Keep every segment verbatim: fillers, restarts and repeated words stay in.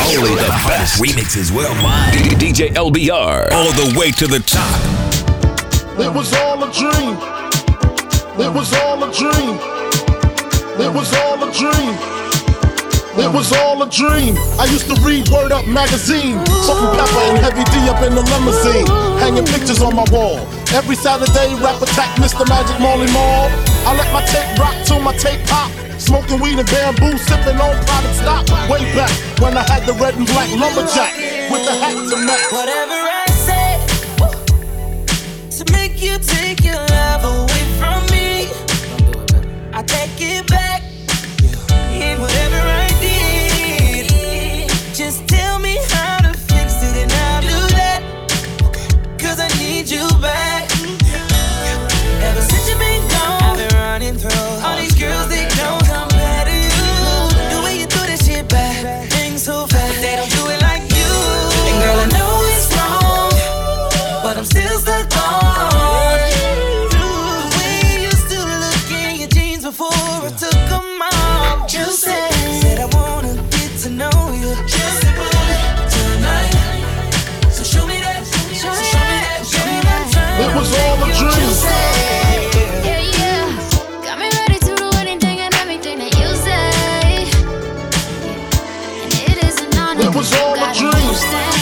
Only the best remixes worldwide. D J L B R, all the way to the top. It was all a dream. It was all a dream. It was all a dream. It was all a dream. I used to read Word Up magazine, Salt-N-Pepa and Heavy D up in the limousine, hanging pictures on my wall. Every Saturday, rap attack, Mister Magic Marley Marl. I let my tape rock till my tape pop. Smoking weed and bamboo, sipping on product stock. Way back when I had the red and black lumberjack with the hat to match. Whatever I say to make you take your love away from me, I take it back. And whatever I did, just tell me how to fix it and I'll do that. Cause I need you back. Ever since you've been gone, I've been running through all these girls that don't compare to you. The way you do this shit back, things so fast, but they don't do it like you. And girl, I know it's wrong, but I'm still stuck on the way you used to look in your jeans before I took them off. You said, said I wanna get to know you just tonight. So show me that, so show me that, show me that. It was all a dream. Yeah, yeah. Got me ready to do anything and everything that you say. And it is an honor. It was all a dream.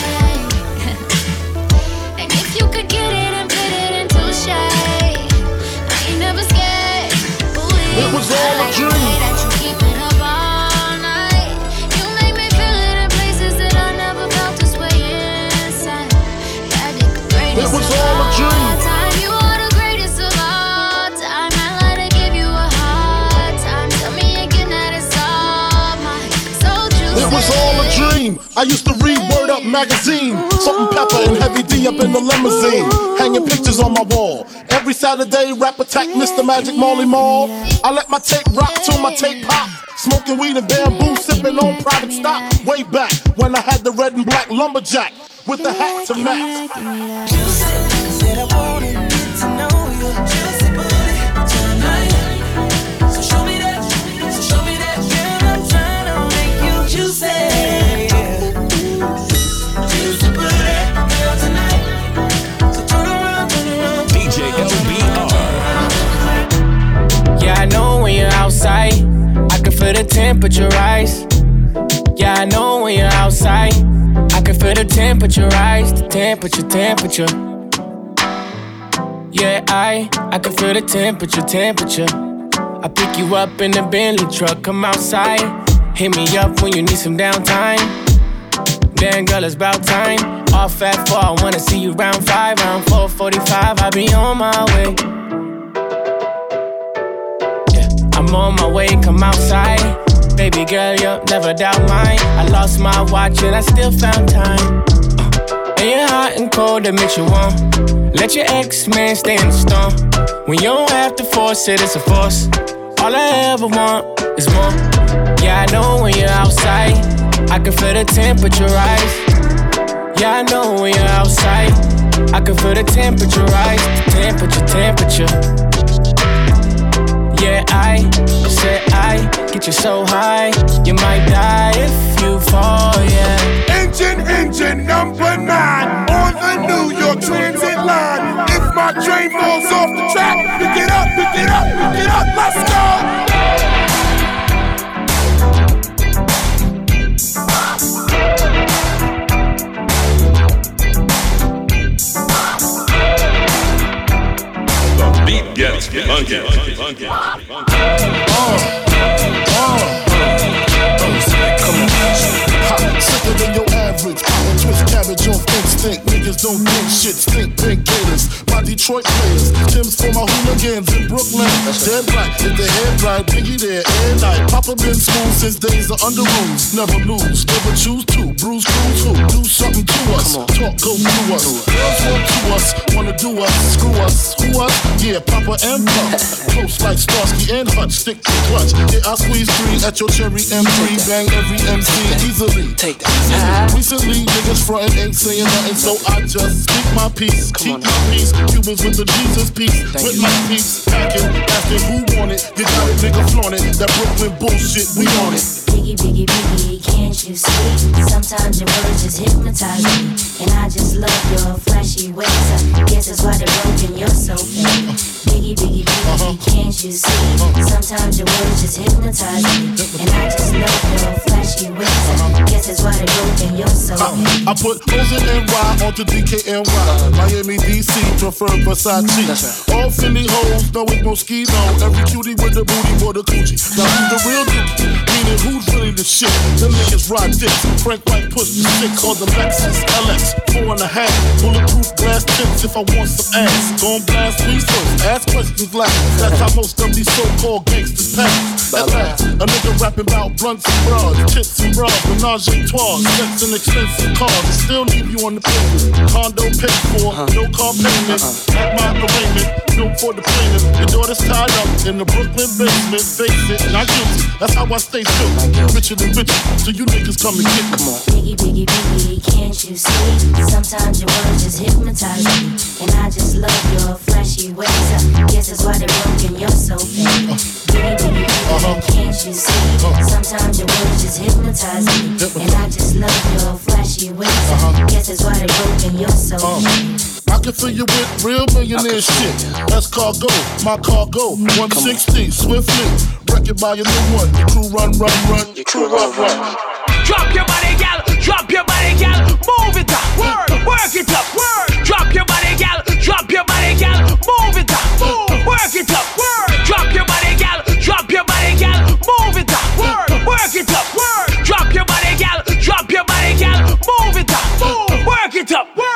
And if you could get it and fit it into shape, I ain't never scared. Ooh, It was all a dream. that you keep it up all night. You make me feel it in places that I never felt this way inside. Yeah, the greatest It was of all a dream. time. You are the greatest of all time. I like to give you a hard time. Tell me again that it's all mine. So juicy. It was all a dream. I used to read Word Up magazine, Salt-N-Pepa and Heavy D up in the limousine, hanging pictures on my wall. Every Saturday, rap attack, Mister Magic Marley Marl. I let my tape rock till my tape pop. Smoking weed and bamboo, sipping on private stock. Way back when I had the red and black lumberjack with the hat to match. You said, said I wanna get to know you just tonight. So show me that, so show me that. Girl, I'm trying to make you juicy. Juicy booty, girl, tonight. So turn around, turn around. D J L B R. Yeah, I know when you're outside, I can feel the temperature rise. Yeah, I know when you're outside, I can feel the temperature rise. The temperature, temperature. Yeah, I, I can feel the temperature, temperature. I pick you up in the Bentley truck, come outside. Hit me up when you need some downtime. Damn girl, it's about time. Off at four, I wanna see you round five. Round four forty-five, I'll be on my way. I'm on my way, come outside. Baby girl, you'll never doubt mine. I lost my watch and I still found time. uh, And you're hot and cold, that makes you warm. Let your ex-man stay in the storm. When you don't have to force it, it's a force. All I ever want is more. Yeah, I know when you're outside, I can feel the temperature rise. Yeah, I know when you're outside, I can feel the temperature rise. Temperature, temperature. Yeah, I said I get you so high, you might die if you fall, yeah. Engine, engine number nine on the New York Transit line. If my train falls off the track, pick it up, pick it up, pick it up, let's go. Beat gets funky. funky. Uh, uh, come on. Ha, sicker than your average. Power twist cabbage off instinct. Niggas don't think shit. Stink pink gators. My Detroit players. Tim's for my hooligans in Brooklyn. Dead right. If the head right, Biggie there and night. Papa been school since days of under rules. Never lose. Never choose to. Bruise cruise who? Do something to us. Talk go through us. Girls want to us. Wanna do us. Screw us. Who us? Yeah, Papa and Pump. Close like Starsky and Hutch. Stick to clutch. Yeah, I squeeze three at your cherry M three. Bang every M C easily. Take that. Recently, niggas frontin' ain't saying nothing, so I just speak my peace. Keep my peace. Cubans with the Jesus peace. With my peace. Packing, asking who want it. You got it, nigga, flaunt it. That Brooklyn bullshit, we on it. Biggie, biggie, biggie, can't you see? Sometimes your words just hypnotize me, and I just love your flashy ways. I guess that's why they're broken, you're so fake. Biggie, biggie, biggie, can't you see? Sometimes your words just hypnotize me, and I just love your flashy ways. I guess that's why they're broken, you're so fake. I put O's and N Y onto D K N Y. Miami, D C, prefer Versace. All Philly hoes know it's Moschino. Every cutie with the booty, more the coochie. Now who's the real dude? Meaning who's really the shit? Them niggas ride dicks. Frank White push the stick called the Lexus L X. Four and a half. Bulletproof glass tips if I want some ass. Gon' blast me first. Ask questions last. That's how most of these so-called gangsters pass. At last, a nigga rapping about blunts and bras, tits and bras, menage a trois, sex and expensive cars. I still leave you on the pavement. Condo paid for, no car payment. At my arraignment, no for the plaintiff. Your daughter's tied up in the Brooklyn basement. Face it, not guilty. That's how I stay still. Richer than richer, so you niggas come and get me. Biggie, biggie, biggie, can't you see? Sometimes your words just hypnotize me, and I just love your flashy ways. I guess that's why they're broken, you're so fake. Biggie, biggie, biggie, can't you see? Sometimes your words just hypnotize me, and I just love your flashy ways. I guess that's why they're broken, you're so fake. I can fill you with real millionaire shit. That's cargo, my cargo. one sixty, swiftly. Wreck it by your new one. Your crew run, run, run. Your crew run, run. Drop your body, gal. Drop your body, gal. Move it up. Word. Work it up. Word. Drop your body, gal. Drop your body, gal. Move it up. Move. Work it up. Word. Drop your body, gal. Drop your body, gal. Move it up. Word. Work it up. Word. Drop your body, gal. Drop your body, gal. Move it up. Move. Work it up. Word.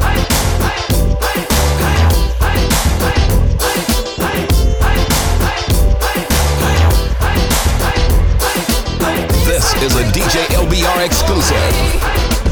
This is a D J L B R exclusive.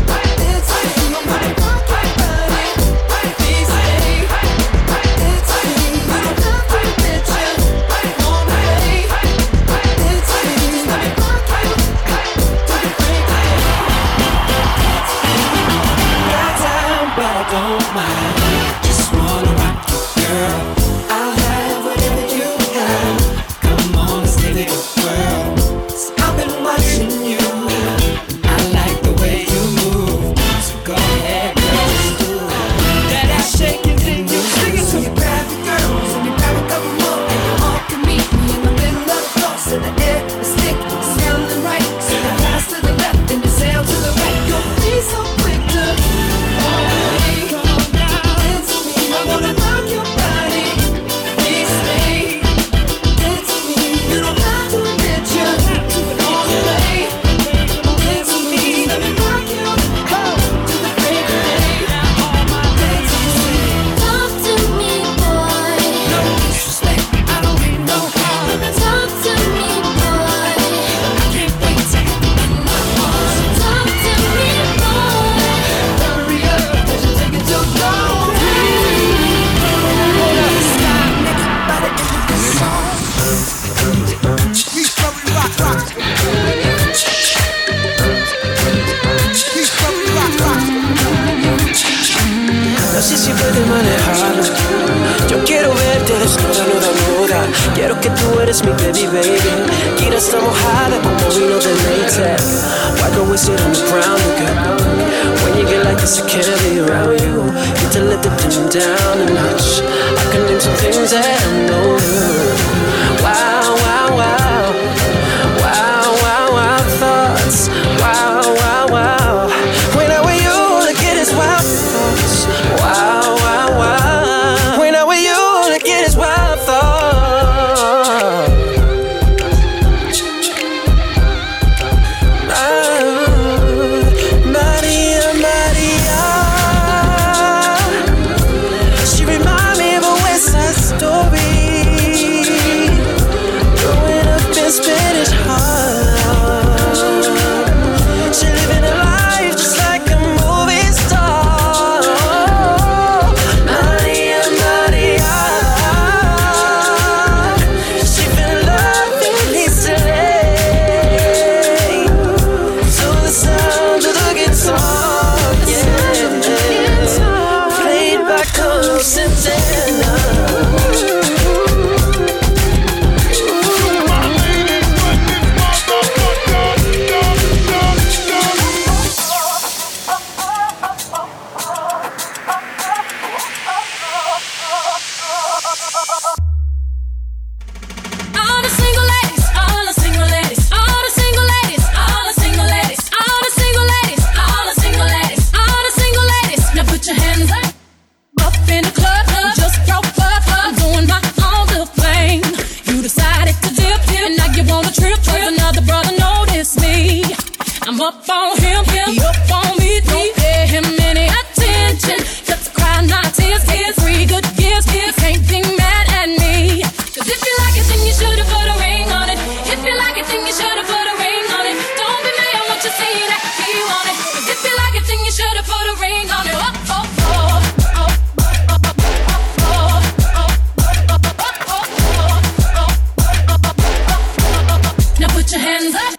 Quiero que tú eres mi baby, baby. Gira está mojada como vino de latex. Why go we sit on the ground again? When you get like this, I can't be around you. Need to let the dim down a notch. I can name some things that I know. Wow, wow, wow. Wow, wow, wow thoughts. Wow, wow, wow. When I'm with you, look at his wild thoughts. Wow, wow, wow. When I'm with you, look at his wild thoughts. She remind me of a West Side Story. I'm up on him, him, he up on me. Don't pay him any attention. Just cry, not tears, tears, free good gifts, gifts. Can't be mad at me. Cause if you like it, then you should've put a ring on it. If you like it, then you should've put a ring on it. Don't be mad, I want you to see that he want it. Cause if you like it, then you should've put a ring on it. Oh, oh, oh. Put your hands up.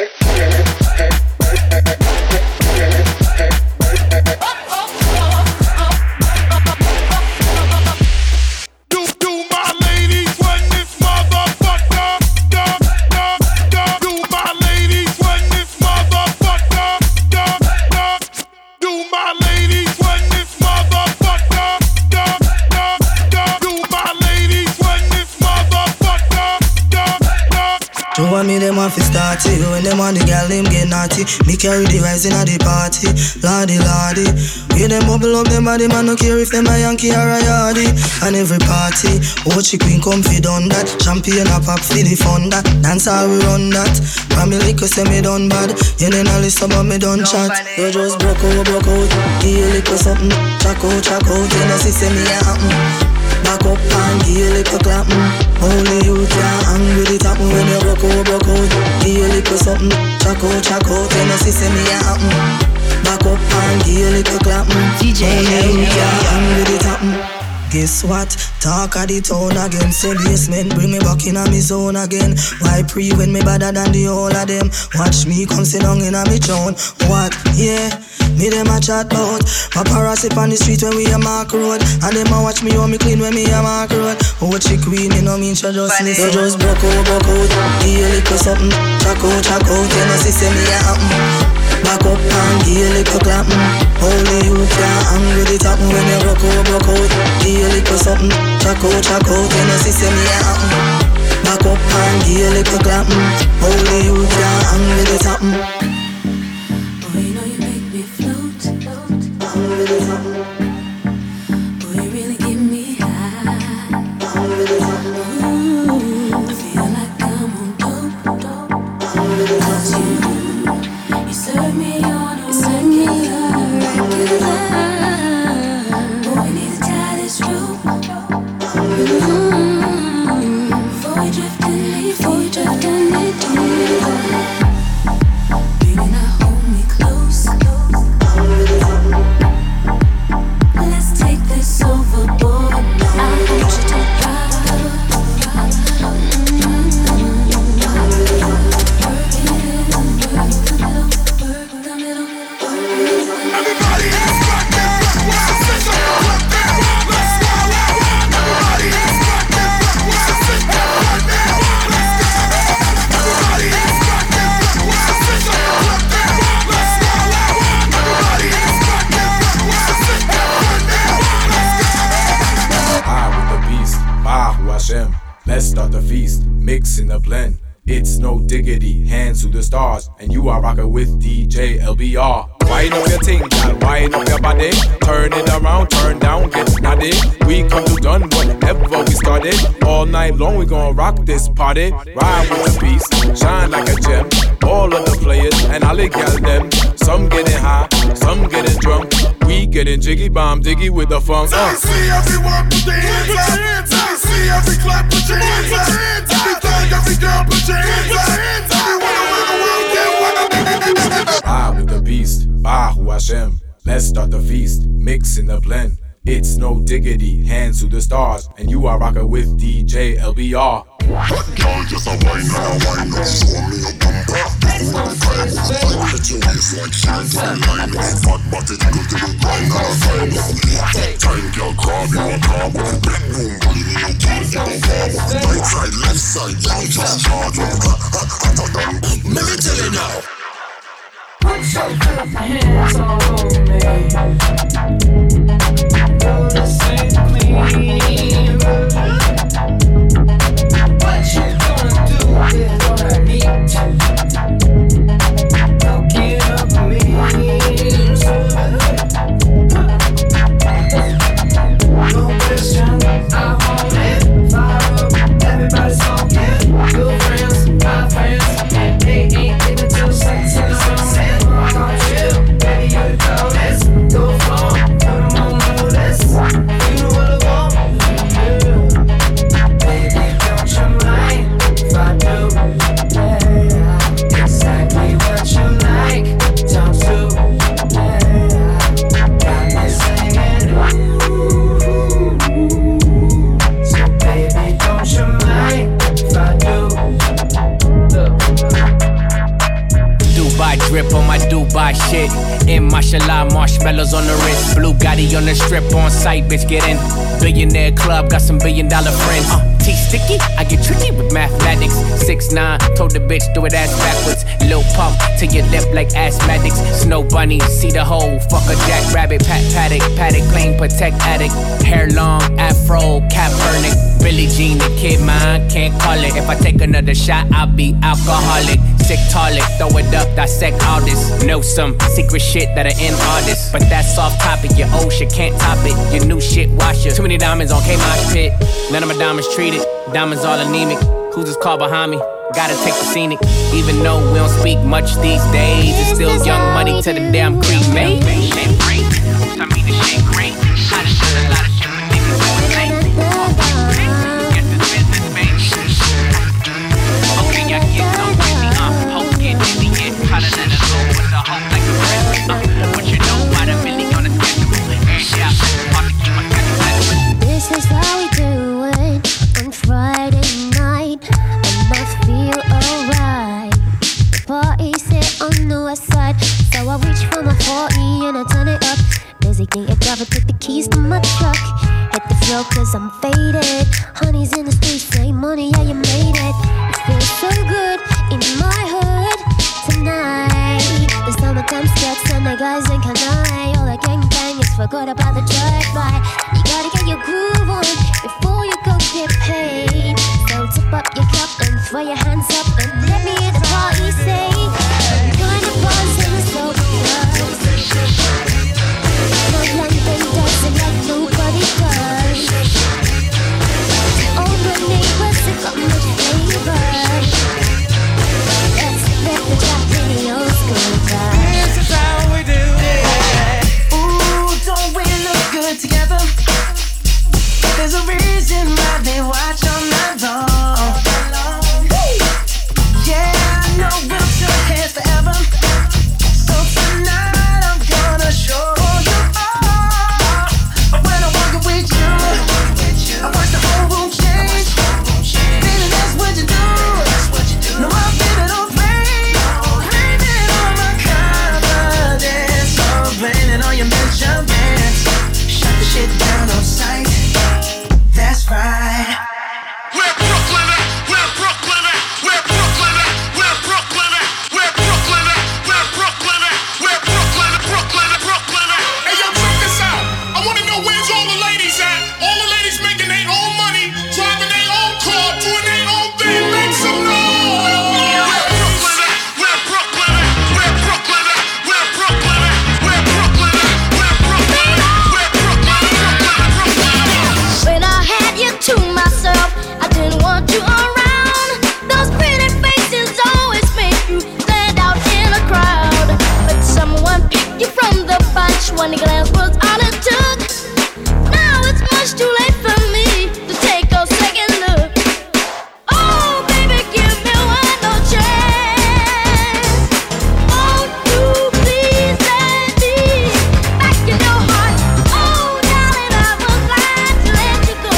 Do do my ladies run this motherfucker? Da, da, da. Do my ladies run this motherfucker? Da, da. Do my ladies run this motherfucker? Da, da, da. Do my ladies run this motherfucker? Da, da. You want me, them want to start it. When them want the girl, them get naughty. Me carry the rising at the party. Lordy, lordy. We them bubble up them body, man, no care if them a Yankee or a Yardie. And every party, watch queen come fi done that. Champagne a pop fi the fun that. Dance how we run that. Family liquor say me done bad. You then a list about me done chat. You just broke out, broke out. Give you liquor something. Check out, check out. You know see say me a happen. Back up and give you liquor clap. Only you can hang with it happen when you broke out, broke out. Give you liquor something. Check out, check out. You know see say me a happen. Back up and give you little clap. D J Only you can hang with it happen. Guess what? Talk of the town again. Say basement, bring me back in a me zone again. Why pre when me better than the whole of them? Watch me come sit down in a me town. What? Yeah, me them a chat bout paparazzi on the street when we a mark road. And them a watch me how me clean when me a mark road. Oh, she queen, you know me, she just listen. You just broke out, broke out. Give you little something. Check out, check out. You know see say me a happen. Back up and give you little clap. Only you can hang with it happen when you broke out, broke out. Give you little something. Check out, check out. You know see say me a happen. Back up and give you little clap. Only you can hang with it happen. Oh, you know you make me float. Hang with it happen. Oh, you really give me high. Hang with it happen. Ooh, I feel like I'm on dope, dope. Hang with it happen. You serve me on a regular, regular. Boy, we need to tie this rope. Mm-hmm. Before we drift and leave, before we drift and leave, baby, now hold me close. Let's take this overboard. I want you to ride. Everybody in this goddamn rock, what's the system? Rock that rock, let's go. Everybody in this goddamn rock, what's the system? Rock that rock, let's go. Everybody in this goddamn rock, what's the system? Rock that rock, let's go. Everybody in this goddamn rock, what's the system? Rock that rock, let's go. High with the beast, Bahu Hashem. Let's start the feast, mix in the blend. It's no diggity, hands to the stars, and you are rocking with D J L B R. Wind up your ting, girl, wind up your body. Turn it around, turn down, get snotty. We come to done whatever we started. All night long we gon' rock this party. Ride with the beast, shine like a gem. All of the players and all the gal them. Some getting high, some getting drunk. We getting jiggy bomb diggy with the funk. Uh. See everyone put their hands up. See every clap, put your hands up. Every thug, every girl, put your hands up. Everyone around the world, get one. Ride with the beast, Bahu Hashem. Let's start the feast, mix in the blend. It's no diggity, hands to the stars, and you are rocking with D J L B R. Y'all just a wine and a wine up. Show me your bumper. Do the time. Put your waist like shine on the line. Fat body go to the grind and a time up. Time girl crab you a crab up. Bedroom bully me you can't get a vibe. Right side, left side, y'all just charge up. Hotter than let me tell you now. Put your hands on me. Notice and clean. What you gonna do with all that meat? Now get up me. No question, I want it. Fire up, everybody's talking. Good friends, my friends. They ain't even till sunset. Dubai drip on my Dubai shit. In mashallah, marshmallows on the wrist. Blue Gotti on the strip on site, bitch, get in. Billionaire club, got some billion dollar friends. Uh, T-sticky, I get tricky with mathematics. six nine, told the bitch do it ass backwards. Lil pump to your lip like asthmatics. Snow bunny, see the hole, fuck a jackrabbit. Pat paddock, paddock plane, protect addict. Hair long, afro, cap burning. Billie Jean, the kid mine, can't call it. If I take another shot, I'll be alcoholic. Sick toilet, throw it up, dissect all this. Know some secret shit that are in all this. But that's off topic, your old shit can't top it. Your new shit wash you. Too many diamonds on K-Mosh pit. None of my diamonds treated, diamonds all anemic. Who's this car behind me? Gotta take the scenic. Even though we don't speak much these days, it's still young money to the damn creek, mate. Shit great, I mean the shit great. I done done a lot of shit for niggas who ain't late. Get this business, baby. Okay, y'all get so crazy, uh. Hope get dizzy, get hotter than a low with a hope like a frenzy, uh. But you know why the Millie on the schedule. Yeah, hard to keep my schedule. This is how we do it on Friday night. And I feel alright. The party sit on the west side. So I reach for my forty and I turn it up. Designate a driver, take the keys to my truck. Hit the floor cause I'm faded. Honey's in the streets, say money, yeah you made it. It feels so good in my hood tonight. The summertime skirts and the guys in Kanai. All the gangbangers forgot about the drive-by. You gotta get your groove on before you go get paid. So tip up your cup and throw your hands up and let me hear the party say. Join the buzz and the slow buzz. No London dancing like nobody does. All my neighbors have got much flavor. Let's let the track in the old school vibe. This is how we do it. Ooh, don't we look good together? There's a reason why they watch all night long. Yeah, I know we'll shake hands forever. So tonight I'm gonna show you all. When I walk with you, I watch the whole room change. Baby, that's what you do. No, I'm feeling on pain. Blaming on my confidence. So blaming on your measurements. Shut the shit down on sight. That's right. Where Brooklyn at? Where Brooklyn at? Where Brooklyn at? Where Brooklyn at? Where Brooklyn at? Where Brooklyn at? Where Brooklyn at? Brooklyn at? Brooklyn at? Hey yo, check this out. I wanna know where's all the ladies at? All the ladies making their own money, driving their own car, doing their own thing. Make some noise. Where Brooklyn at? Where Brooklyn at? Where Brooklyn at? Where Brooklyn at? Where Brooklyn at? Where Brooklyn at? Where Brooklyn at? Brooklyn at? Brooklyn at? When I had you to myself, I didn't want you around. Those pretty faces always make you stand out in a crowd. But someone picked you from the bunch. One glance was all it took. Now it's much too late for me to take a second look. Oh, baby, give me one more chance. Won't you please let me back in your heart? Oh, darling, I was glad to let you go.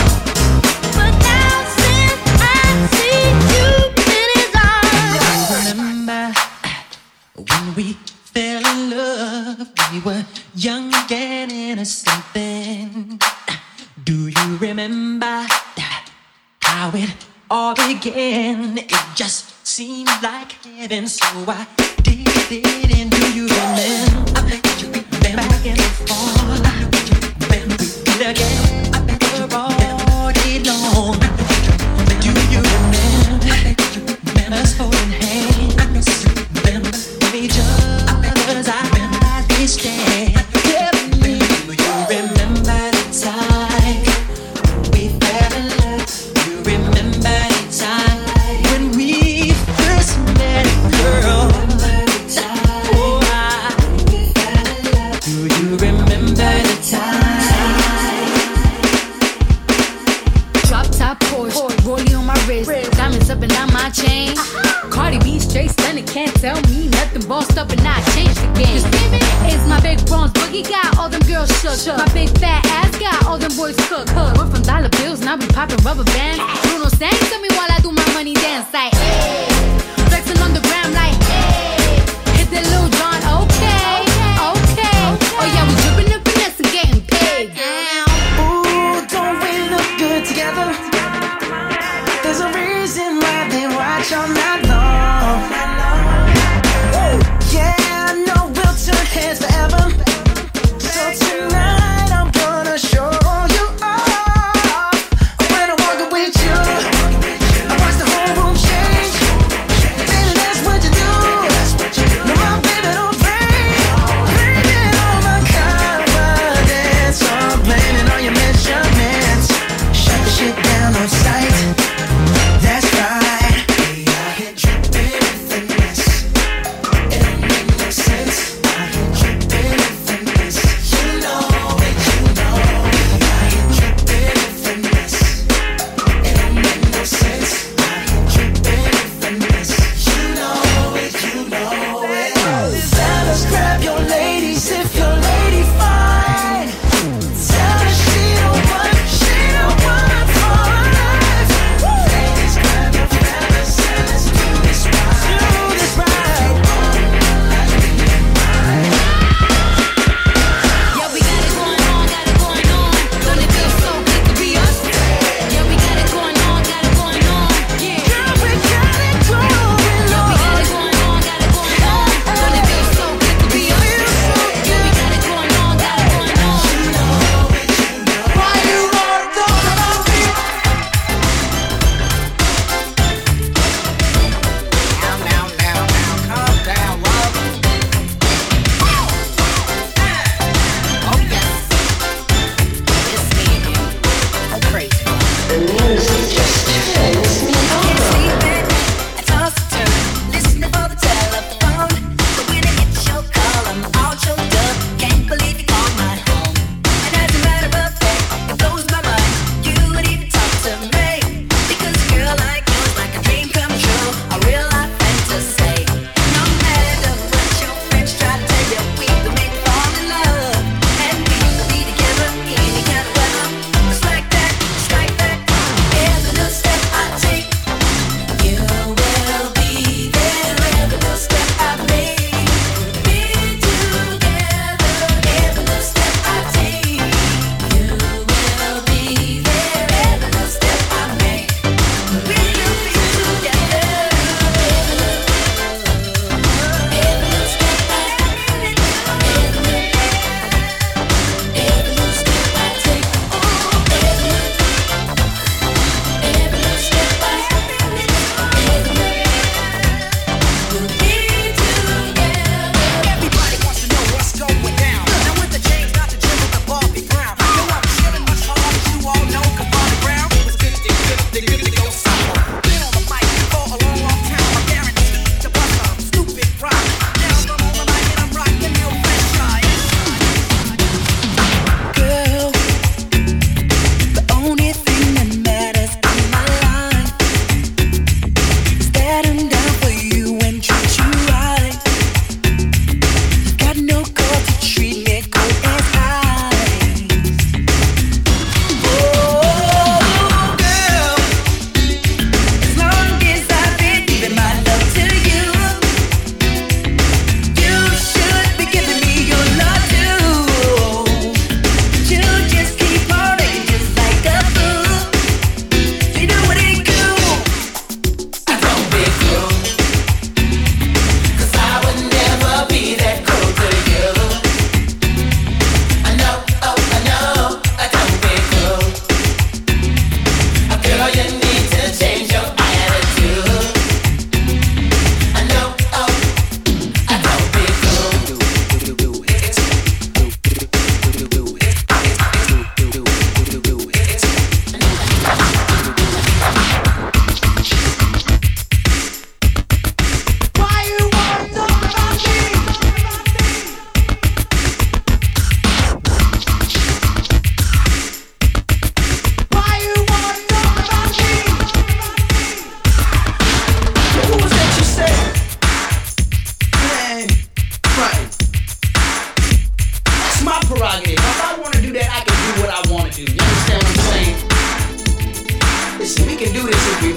But now since I see you in his arms, Remember when we fell in love? We were young and innocent then. Do you remember how it all began? It just seemed like heaven, so I did it. And do you remember? I bet you been back and forth. When we did again, I bet we're all day long. Do you remember us holding hands? Remember each other's eyes we stand. Tell me, do you remember the time we fell in love? You remember the time when we first met, girl? Oh, I, do you remember the time? Drop top Porsche, rollie on my wrist, diamonds up and down my chain. Cardi B straight stunning, can't tell me nothing. Bossed up and I changed the game. It's my big bronze boogie got all them girls shook. My big fat ass got all them boys cooked. Went from dollar bills, now we popping rubber bands. Bruno sang to me while I do my money dance like hey. Flexing on the gram like hey.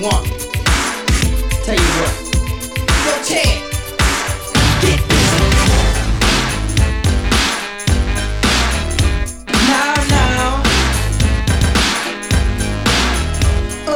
one. Tell you what. Yo, Chad. Get this. Now, now. Ooh.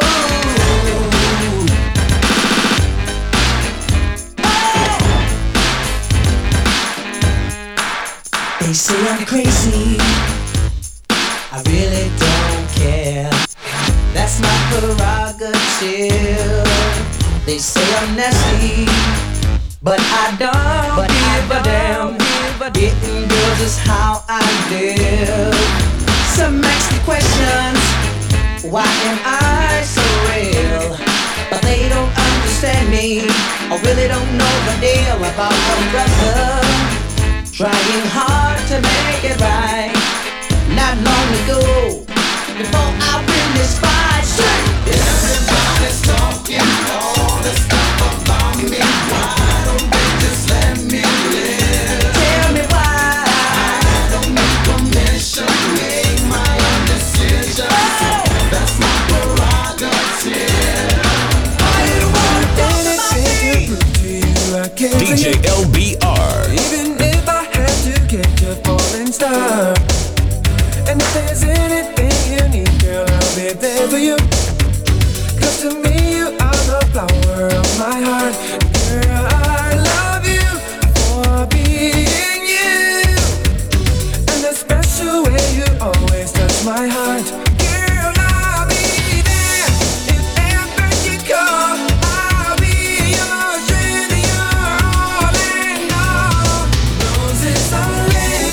They say I'm crazy. I really don't care. That's my prerogative. They say I'm nasty, but I don't but give I a damn. Getting girls is how I live. Some ask me questions, why am I so real? But they don't understand me, or really don't know the deal about a brother trying hard to make it right. Not long ago, before I win this fight, everybody's talking all this stuff about me. Why don't they just let me live? Tell me why. I don't need permission to make my own decisions. Oh. That's my prerogative. I want anything to you, I can't D J L B R. Even if I had to catch a falling star. And if there's anything you need, girl, I'll be there for you. Cause to me you are the flower of my heart. Girl, I love you for being you. And the special way you always touch my heart. Girl, I'll be there if ever you call. I'll be your friend, your all and all. Roses on lips.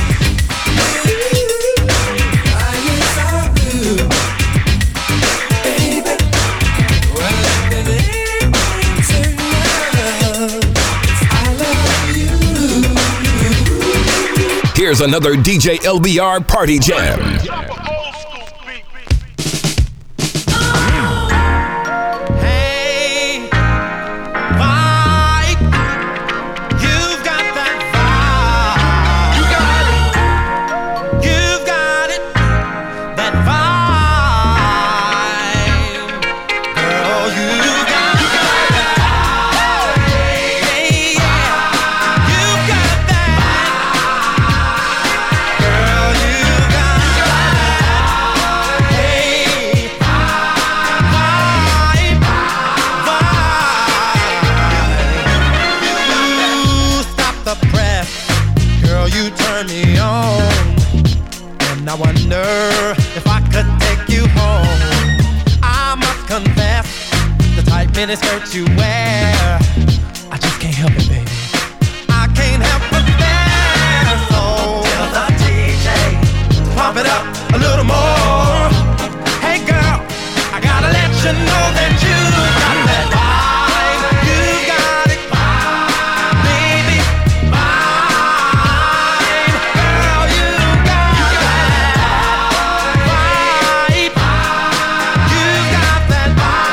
Here's another D J L B R Party Jam. I wonder if I could take you home. I must confess, the tight miniskirt you wear, I just can't help it, baby. I can't help but stare. So tell the D J to pump it up a little more. Hey girl, I gotta let you know that you got that vibe. You got it, baby, mine. Girl, you got that vibe. You got that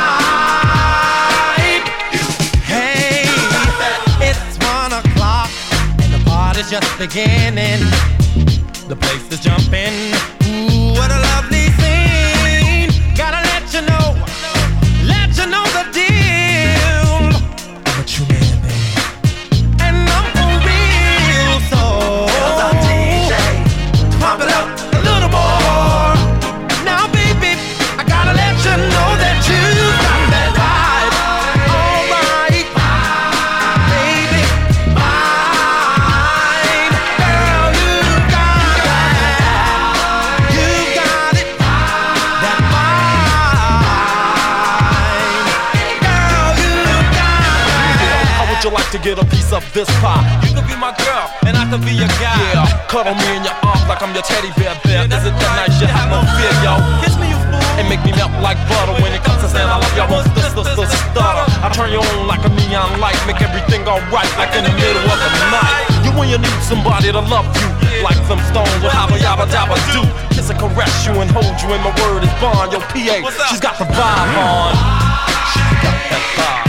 vibe. Hey, it's one o'clock and the party's just beginning. The place is jumping. Ooh, what a lovely scene. Gotta let you know, let you know the deal. I'm a true man, baby, and I'm for real. So tell the D J to pump it up a little more. Now, baby, I gotta let you know that you got that vibe. All right, baby, mine. Girl, you got that. You got it, that mine. Girl, you got that. How would you like to get a piece of this pie? You could be my girl, and I could be your guy. Yeah, cuddle me in your arms like I'm your teddy bear bear. Is it that nice? You have no fear, yo. Kiss me, you fool, and make me melt like butter. When it comes to saying I love you, I won't st- st- st- stutter. I turn you on like a neon light, make everything alright, like in the middle of the night. You when you need somebody to love you, like some stones will habba yabba dabba do. Kiss and caress you and hold you, and my word is bond. Yo, P A, she's got the vibe on. She's got that vibe.